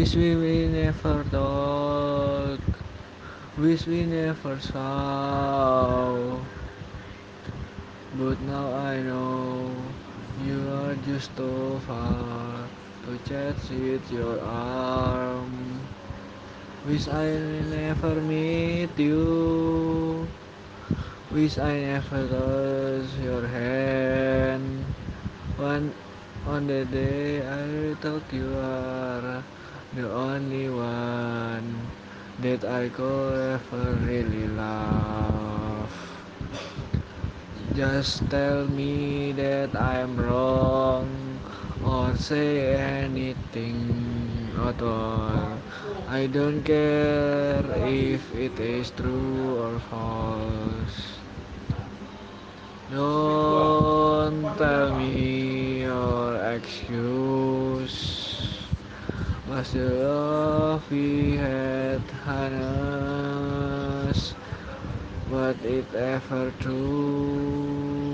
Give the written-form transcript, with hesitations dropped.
Wish we never talk, wish we never saw. But now I know you are just too far to chase with your arm. Wish I never meet you. Wish I never touch your hand. One on the day I thought you are the only one that I could ever really love. Just tell me that I'm wrong or say anything at all. I don't care if it is true or false. Don't tell me your excuse. Was the love we had honest? Was it ever true?